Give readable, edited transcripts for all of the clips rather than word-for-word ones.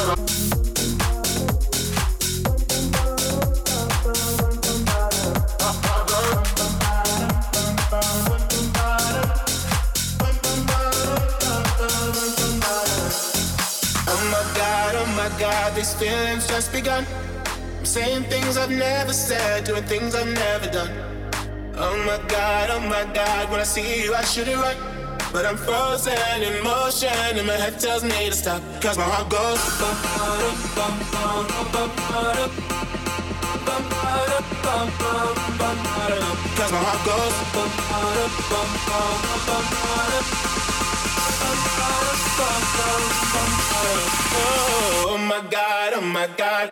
These feelings just begun. I'm saying things I've never said, doing things I've never done. Oh my God, when I see you I should it right. But I'm frozen in motion and my head tells me to stop. Cause my heart goes bum, bum, bum, bum, bum, bum, bum, bum, bum, bum. Cause my heart goes bum, bum, bum, bum, bum, oh my God, oh my God.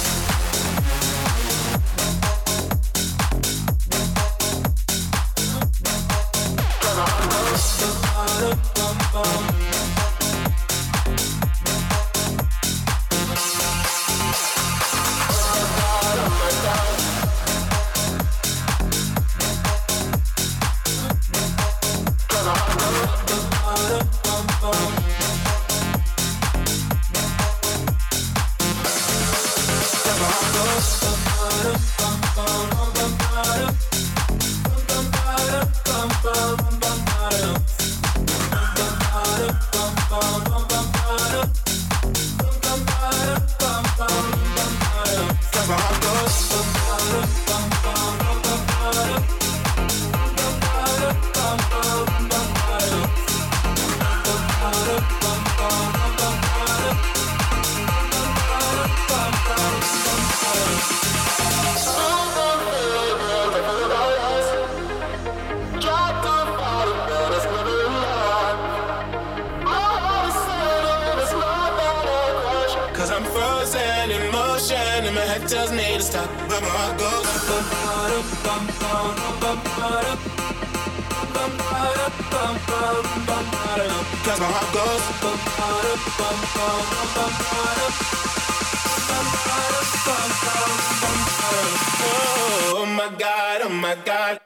Tells me to stop, but my heart goes bum, bum, bum, bum, bum, bum, bum, bum, cause my heart goes bum, bum, bum, bum, bum, oh my God, oh my God.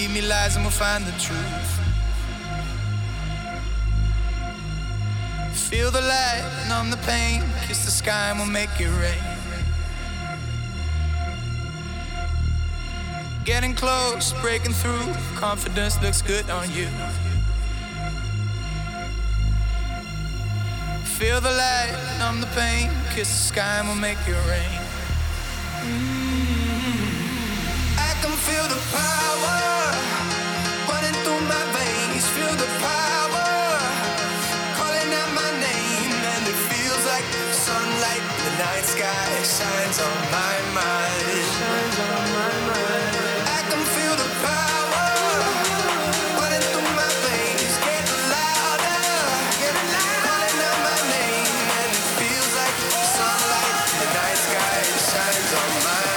Find the truth. Feel the light, numb the pain, kiss the sky and we'll make it rain. Getting close, breaking through, confidence looks good on you. Feel the light, numb the pain, kiss the sky and we'll make it rain. I can feel the power running through my veins. Feel the power calling out my name, and it feels like sunlight in the night sky shines on my mind. Shines on my mind. I can feel the power running through my veins, getting louder, calling out my name, and it feels like sunlight in the night sky shines on my mind.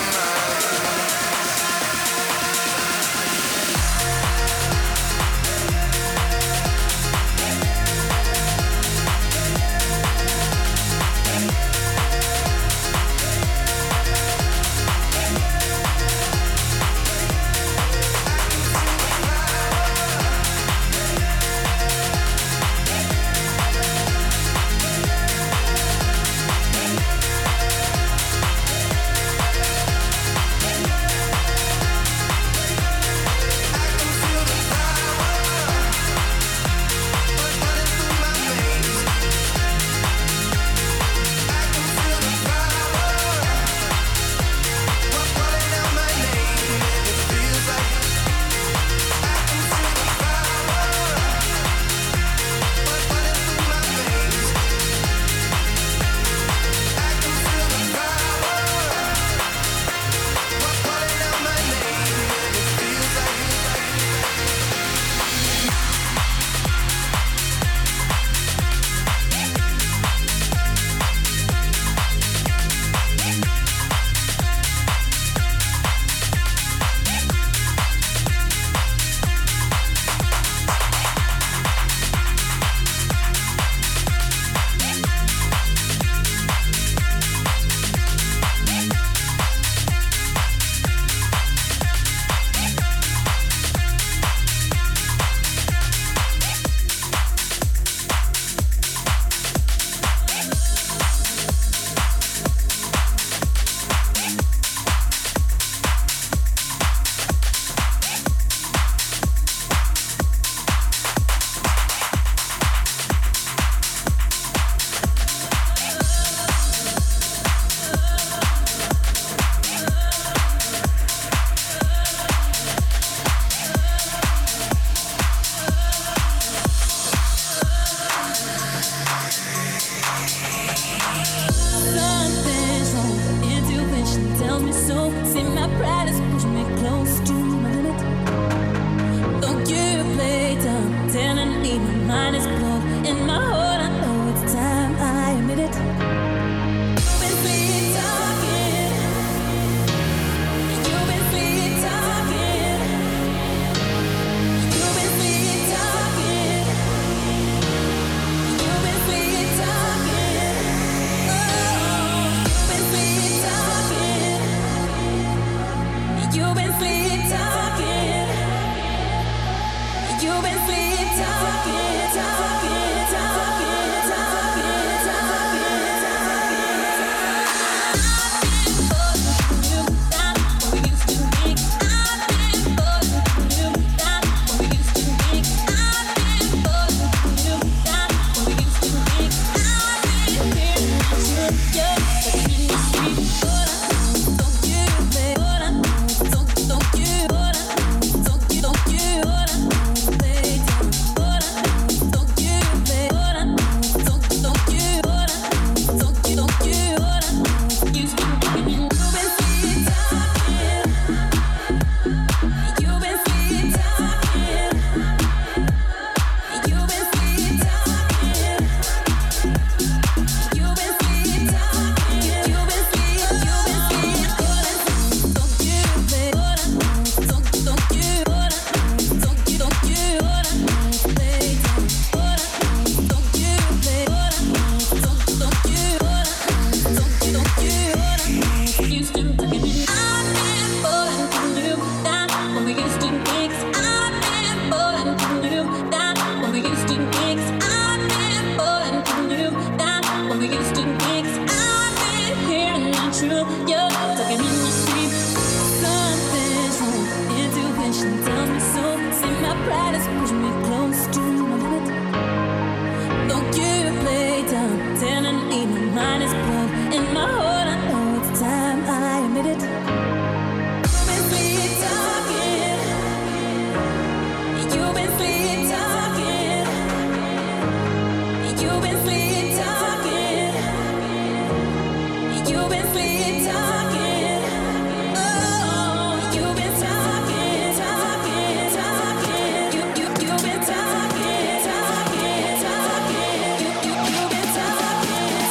You've been sweet. true. You're talking in your sleep. Something's wrong. Intuition tells me so. See, my pride is pushing me close to my limit. Don't you play down, telling me my mind is blood. In my heart, I know it's time. I admit it. You've been sleep talking. You've been sleep talking. You've been sleep talking. You've been sleep talking. Oh, you've been talking, talking, talking. You've been talking, talking, talking. You've been talking, talking,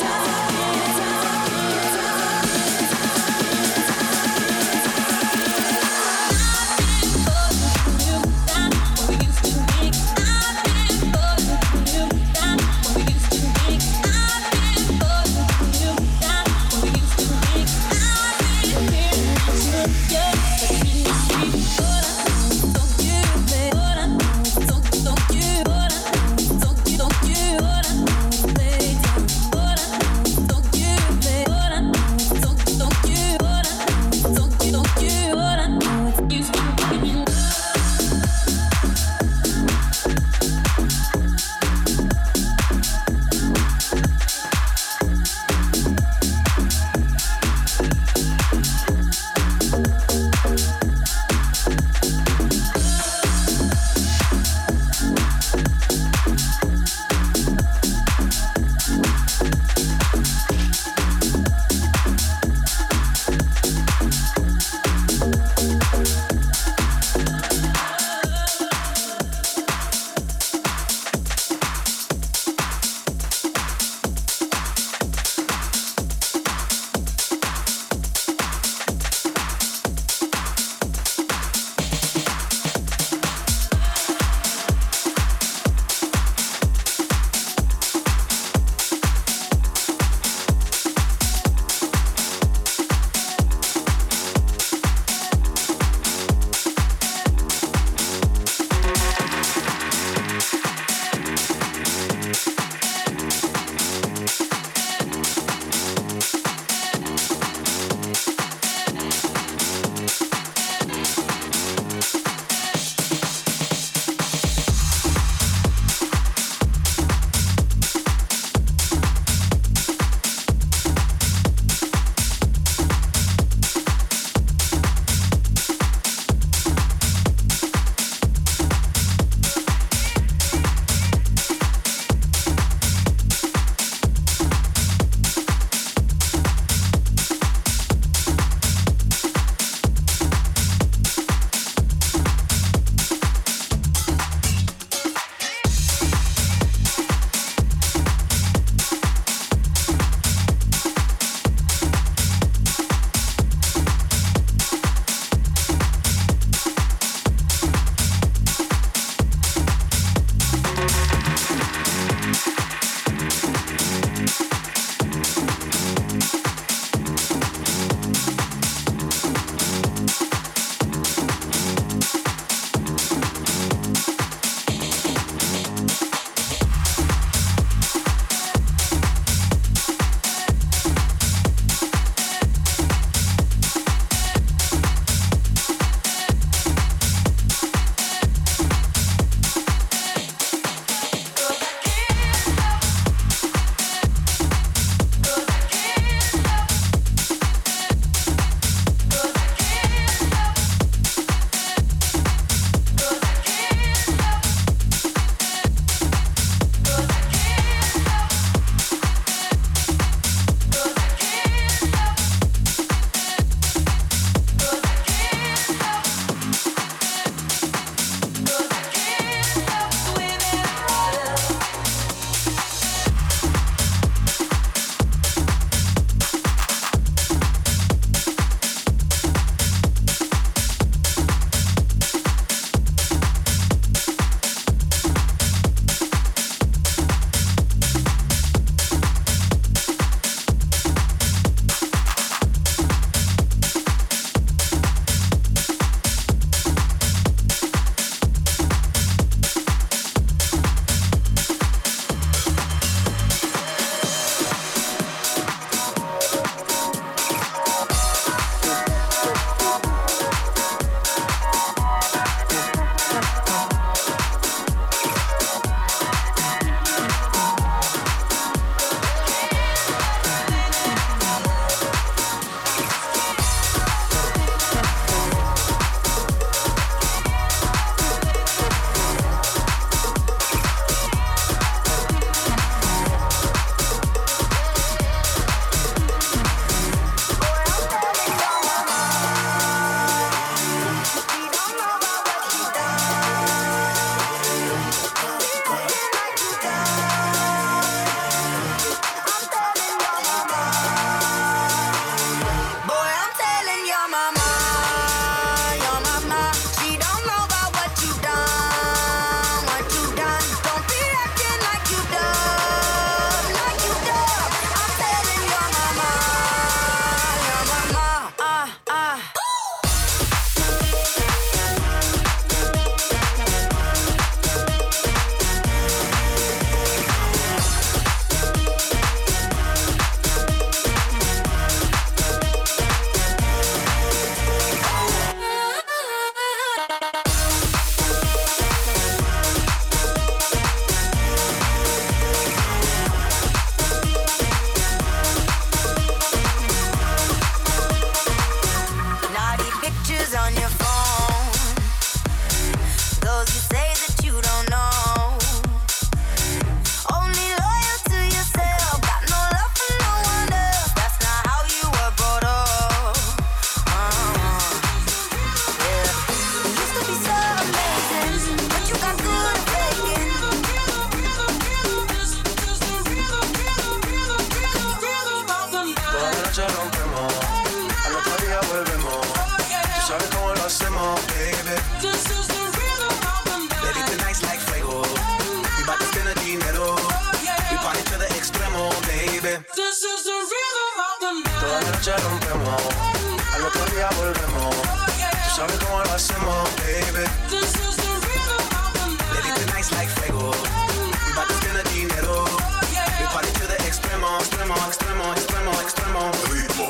sabes cómo lo hacemos, baby. This is the rhythm of the night. Baby, tonight's like fuego. We bout to spend the dinero. We party to the extremo, baby. This is the rhythm of the night. Toda la noche rompemos, al otro día volvemos. Tú sabes cómo lo hacemos, baby. This is the rhythm of the night. Baby, tonight's like fuego. We bout to spend the dinero. We party to the extremo, extremo, extremo, extremo, extremo. Ritmo.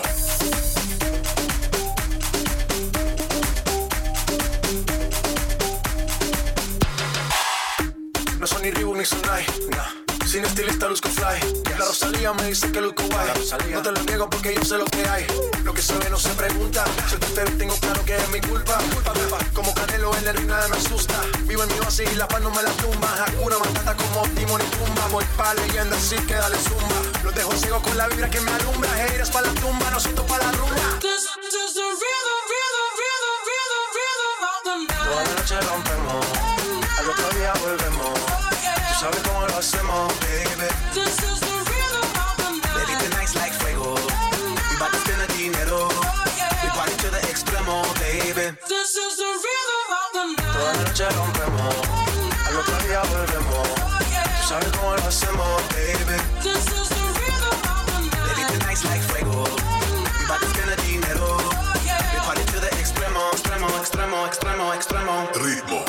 No son ni Reebok ni Sonai, nah. Sin estilista luzco fly, yes. La Rosalía me dice que luzco guay. No te lo niego porque yo sé lo que hay. Lo que se ve no se pregunta. Si tú te ves tengo claro que es mi culpa. Como Canelo en el ring nada me asusta. Vivo en mi oasis y la paz no me la tumba. Hakuna Matata como Timon y Pumba. Voy pa' leyenda así que dale zumba. Los dejo ciego con la vibra que me alumbra. Haters pa' la tumba, nosotros pa' la rumba. This is the rhythm of the night. Toda la noche rompemos, al otro día volvemos. Tú sabes cómo lo hacemos, baby. This is the rhythm of the night. Baby, tonight's like fuego. We bout to spend the dinero. We party to the extremo, baby. This is the rhythm of the night. Toda la noche rompemos, al otro día volvemos. Tú sabes cómo lo hacemos, baby. This is the rhythm of the night. Baby, tonight's like fuego. We bout to spend the dinero. We party to the extremo, extremo, extremo, extremo, extremo. Ritmo.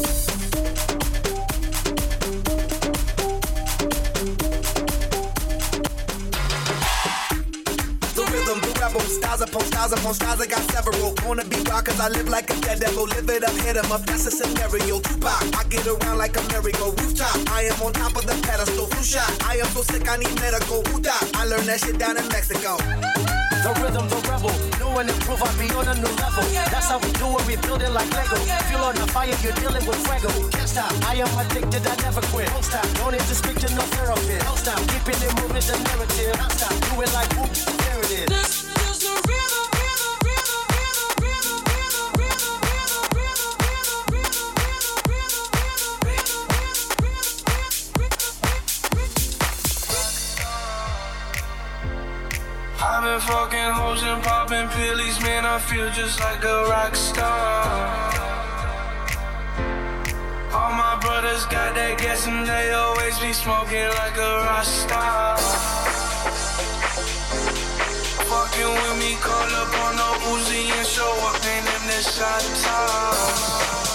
Styles upon styles upon styles, I got several. Wanna be wild cause I live like a dead devil. Live it up, hit 'em up, that's a scenario. Tupac, I get around like a merry-go rooftop. I am on top of the pedestal, flu shot. I am so sick, I need medical. Uda, I learned that shit down in Mexico. The rhythm, the rebel, new and improve, I be on a new level. That's how we do it, we build it like Lego. Feel on the fire, you're dealing with fuego. Can't stop, I am addicted, I never quit. Don't stop, don't need to speak to no therapist. Don't stop, keeping it moving, the narrative. Don't stop, do it like whoop, there it is. This is the rhythm, rhythm, rhythm, rhythm, rhythm, rhythm, rhythm, rhythm, rhythm, I've been fucking hoes and popping pillies, man, I feel just like a rock star. All my brothers got that gas and they always be smoking like a rock star. Fucking with me, call up on the Uzi and show up in them the shot toss.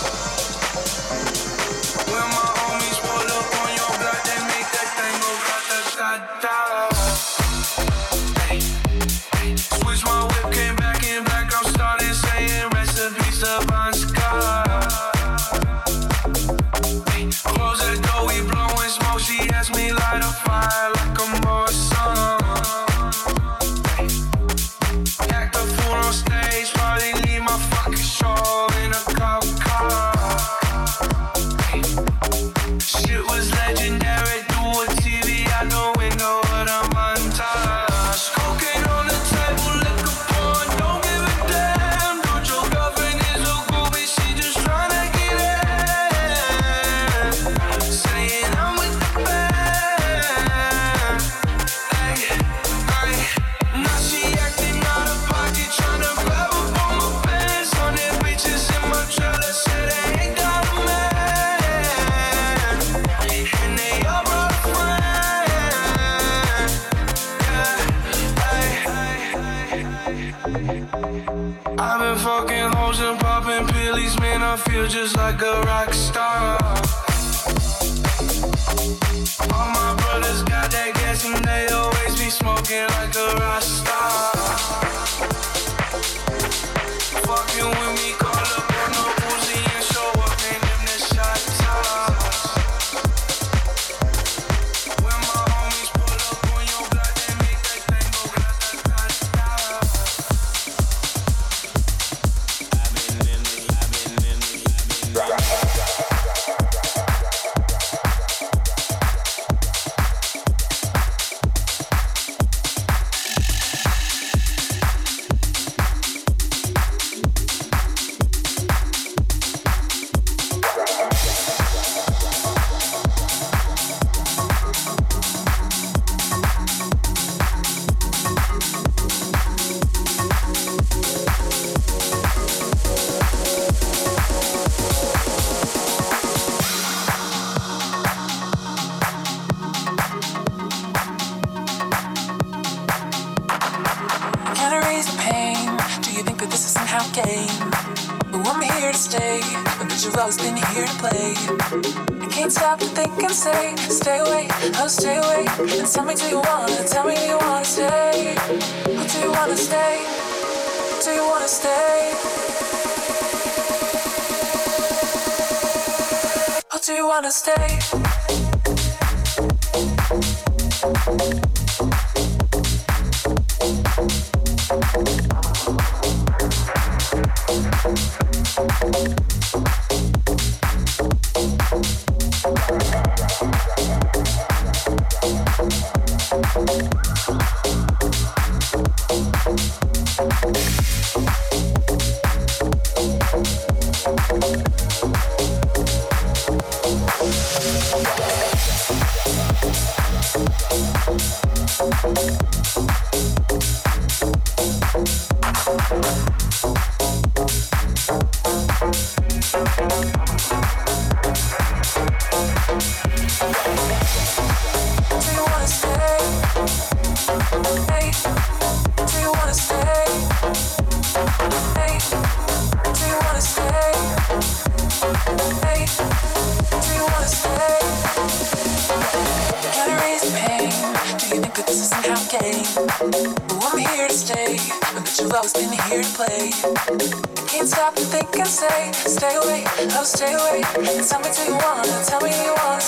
When my homies pull up on your block, they make that thing go grata-ta-ta. Switch my whip, came back in black, I'm starting saying recipes to Bon Scott. Close that door, we blowing smoke, she asked me light a fire like I'm more sun. Act a fool on stage, probably leave my fucking show in a cop car. Shit was legendary, do a TV out the window of the montage. Cocaine on the table, liquor pouring, don't give a damn. Dude, your girlfriend is a groupie, she just tryna get in. Saying I'm with the band. Ay, ay. Now she acting out of pocket, tryna grab up on my pants. 100 bitches in my trailer, said they ain't got a man. And they all brought a friend. Yeah, ay, I've been fucking hoes and popping pillies, man, I feel just like a rock star. All my brothers got that gas and they always be smoking like a rock star. Fucking with me, call up on the Uzi and show up in them the shot toss. When my homies pull up on your block, they make that thing go grata-ta-ta. Can erase the pain? Do you think that this is somehow game? But I'm here to stay, and that you've always been here to play. I can't stop to think and say, stay away, oh stay away. And tell me do you wanna stay? Or do you wanna stay? Do you wanna stay? Or do you wanna stay? Stay away, oh stay away. Tell me do you wanna stay? Do you wanna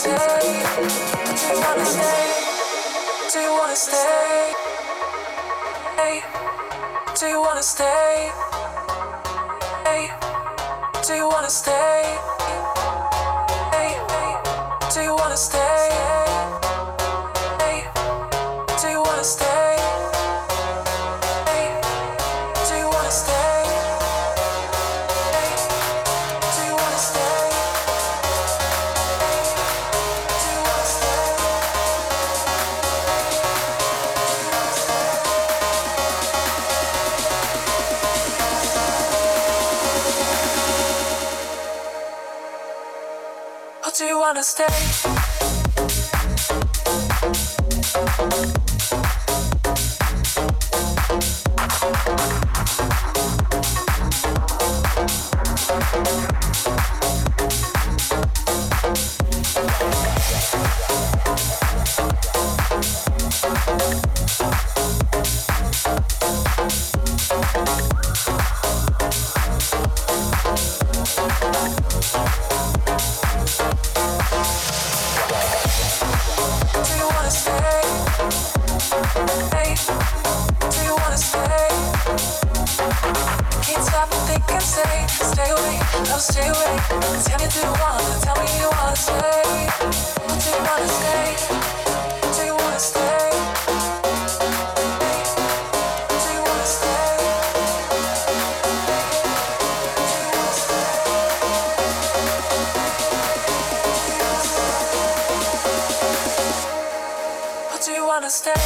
stay? Do you wanna stay? Hey, do you wanna stay? Hey, do you wanna stay? Hey, do you wanna stay? Hey, do you wanna stay? Hey, do you wanna stay? Do you wanna stay? Stay away. Tell me do you wanna stay? Do you wanna stay? Do you wanna stay? Do you wanna stay? Or do you wanna stay?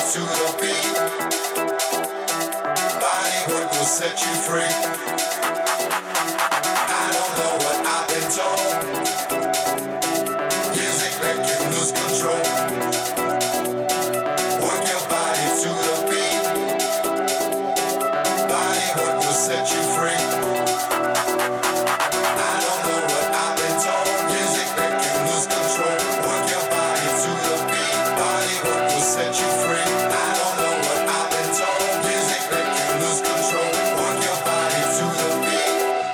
to the beat. Body work will set you free. I don't know what I've been told. Music make you lose control. Work your body to the beat. Body work will set you free. I don't know what I've been told. Music make you lose control. Work your body to the beat. Body work will set you free. I don't know what I've been told. Music make you lose control. Work your body to the beat.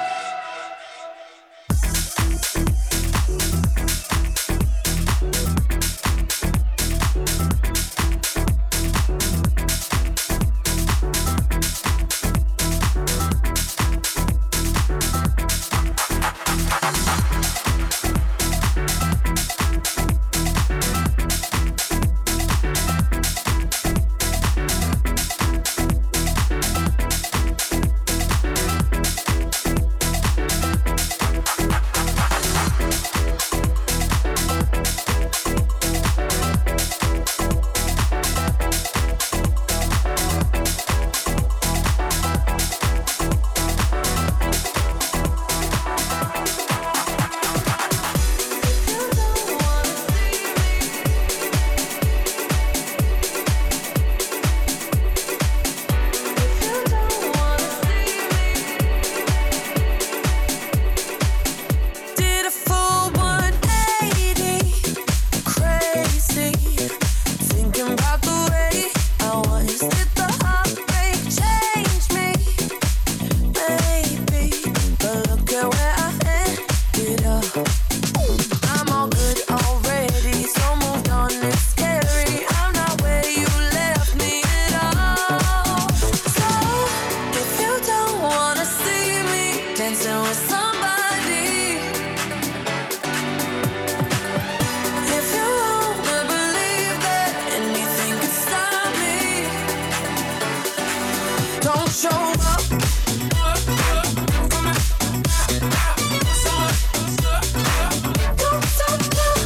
Did a full 180, crazy, thinking about the way I was. Did the heartbreak change me? Maybe, but look at where I ended up. I'm all good already, so moved on. It's scary. I'm not where you left me at all. So if you don't wanna see me dancing with somebody, if you wanna believe that anything can stop me, don't show up. Don't stop now.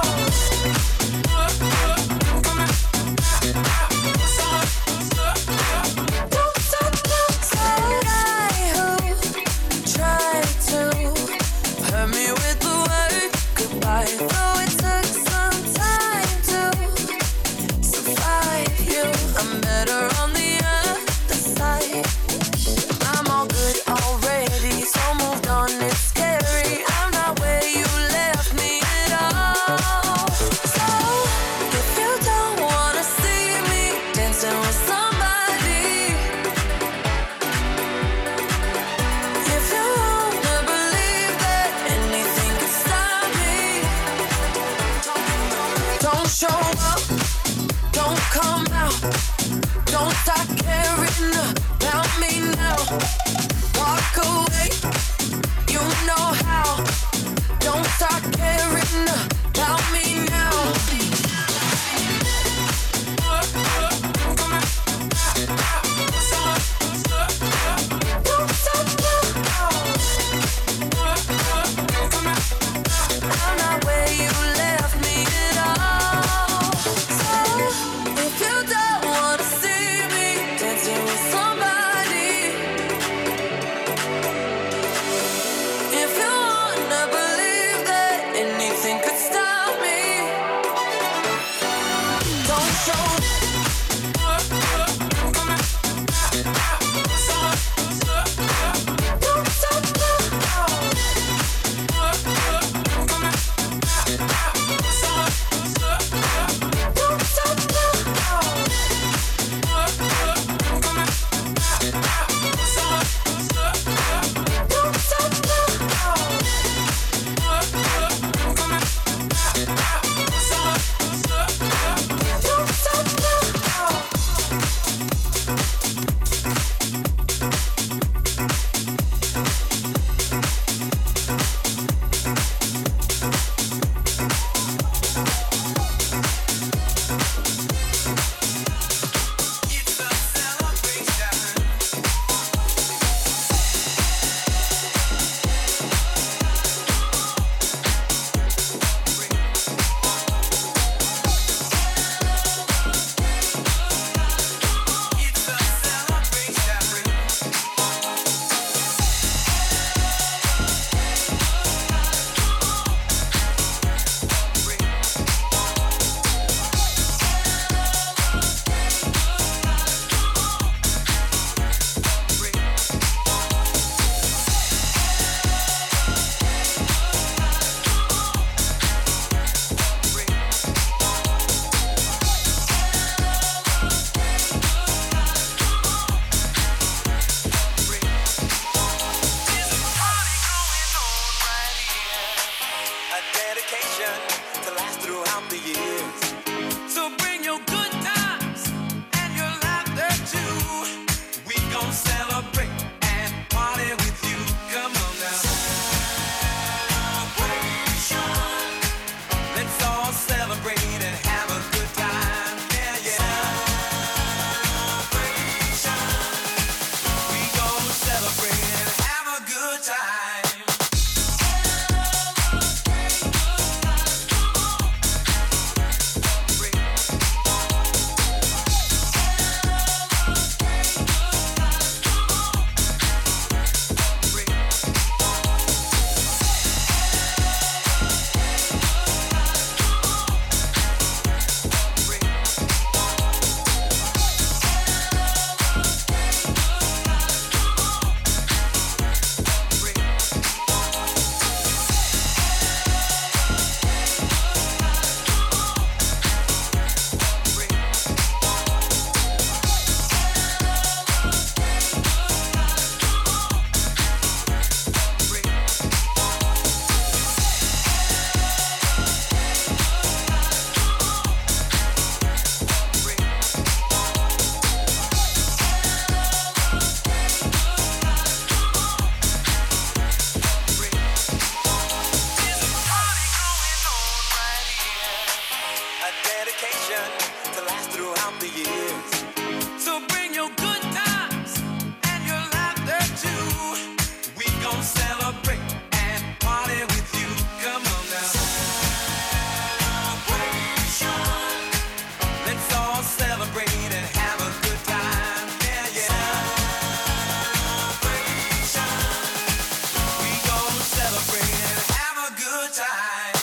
Don't stop now. Some guy who tried to hurt me with the word goodbye. Though it took some time to survive you, I'm better on the other side. I'm all good already, so moved on. It's scary. I'm not where you left me at all. So if you don't wanna see me dancing with somebody, if you wanna believe that anything can stop me, don't show up, don't come out, don't start caring about me now. Walk away, you know how. Don't start caring about me now. Don't stop now. I'm not where you left me at all. So if you don't wanna see me dancing with someone, throughout the years. So bring your good times and your laughter too. We gon' celebrate and party with you. Come on now. Celebration. Let's all celebrate and have a good time. Yeah, yeah. Celebration. We gon' celebrate and have a good time.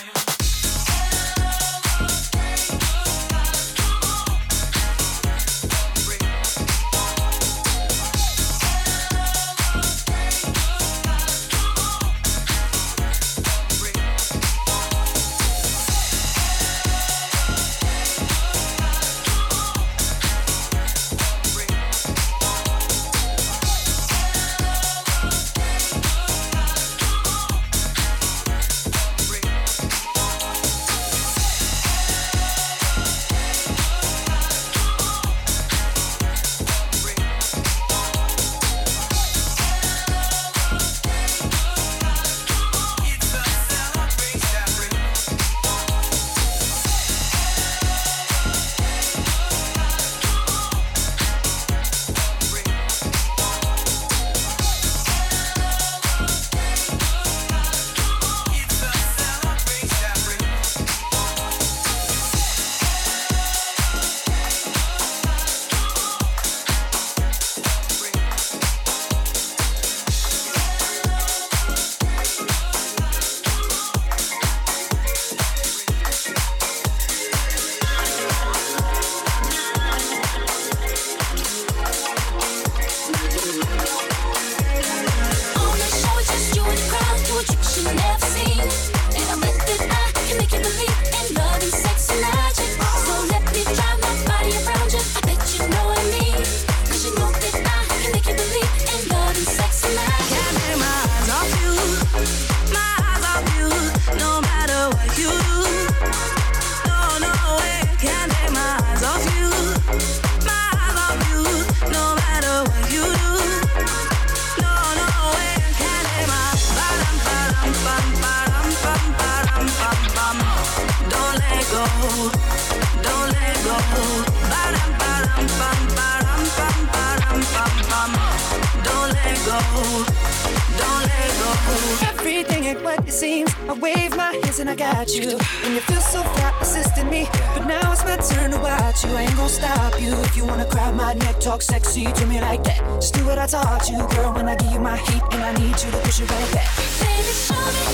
Everything ain't what it seems. I wave my hands and I got you. And you feel so fly assisting me. But now it's my turn to watch you. I ain't gon' stop you. If you wanna grab my neck, talk sexy to me like that. Just do what I taught you, girl. When I give you my heat and I need you to push it right back. Baby, show me,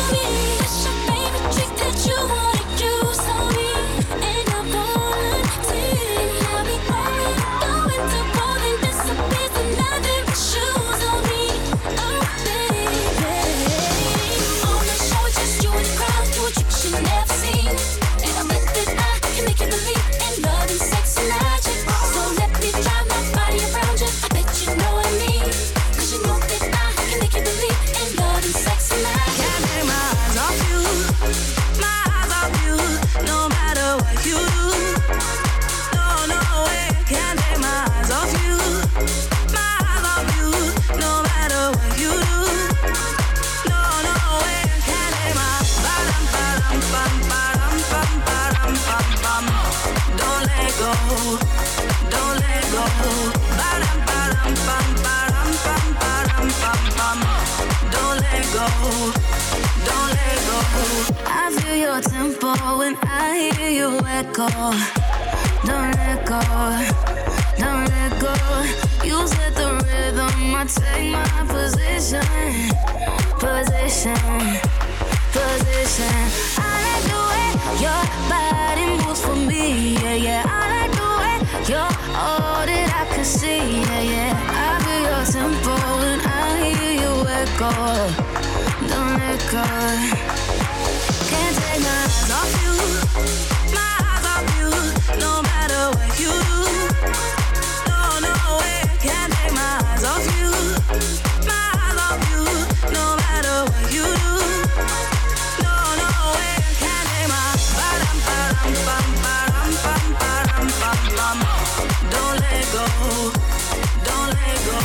what's your favorite trick that you wanna use on me? And I want to have me going to more than this. A piece of nothing but shoes on me. Oh, baby. On the show, it's just you and the crowd. Do a trick you never seen. And I bet that I can make you believe in love and sex and magic. So let me drive my body around you. I bet you know what I mean. 'Cause you know that I can make you believe in love and sex and magic. Can't take my eyes off you, my eyes off you, no matter what you do. No, no way, can't take my eyes off you, my eyes off you, no matter what you do. No, no way, can't take my ba-dum, ba-dum, bum, ba-dum, bum, ba-dum, bum, bum. Don't let go, don't let go. Ba-dum, ba-dum, bum, ba-dum, bum, ba-dum, bum, bum. Don't let go, don't let go. I feel your tempo when I hear you echo. Don't let go, don't let go. You set the rhythm, I take my position, position, position. I like the way your body moves for me, yeah, yeah. I like the way you're all that I can see, yeah, yeah. I feel your tempo when I hear you echo. Don't let go. Can't take my eyes off you, my eyes off you, no matter what you do. No, no way, can't take my eyes off you, my eyes off you, no matter what you do. No, no way, can't take my ba-dum, ba-dum, bum, ba-dum, bum, ba-dum, bum, bum. Don't let go, don't let go.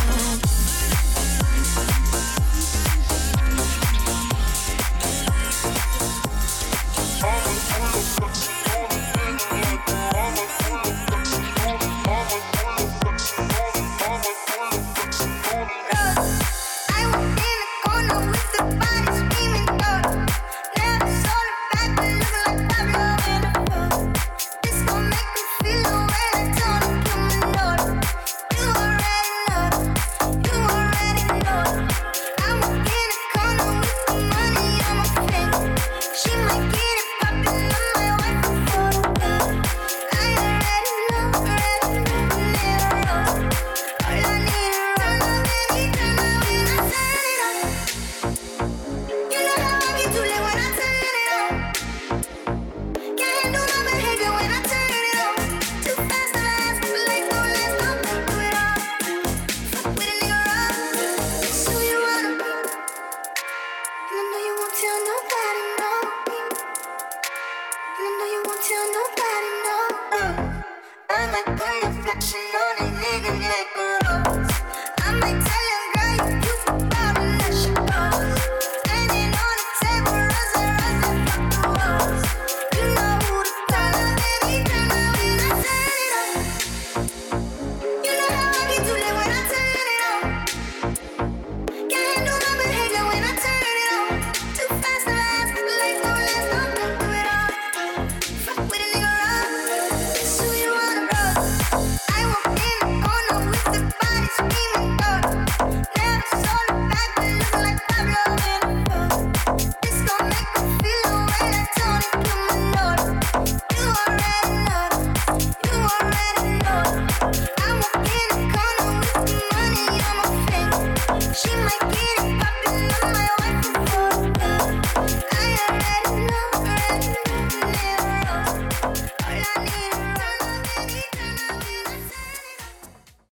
like how you flexing on a nigga like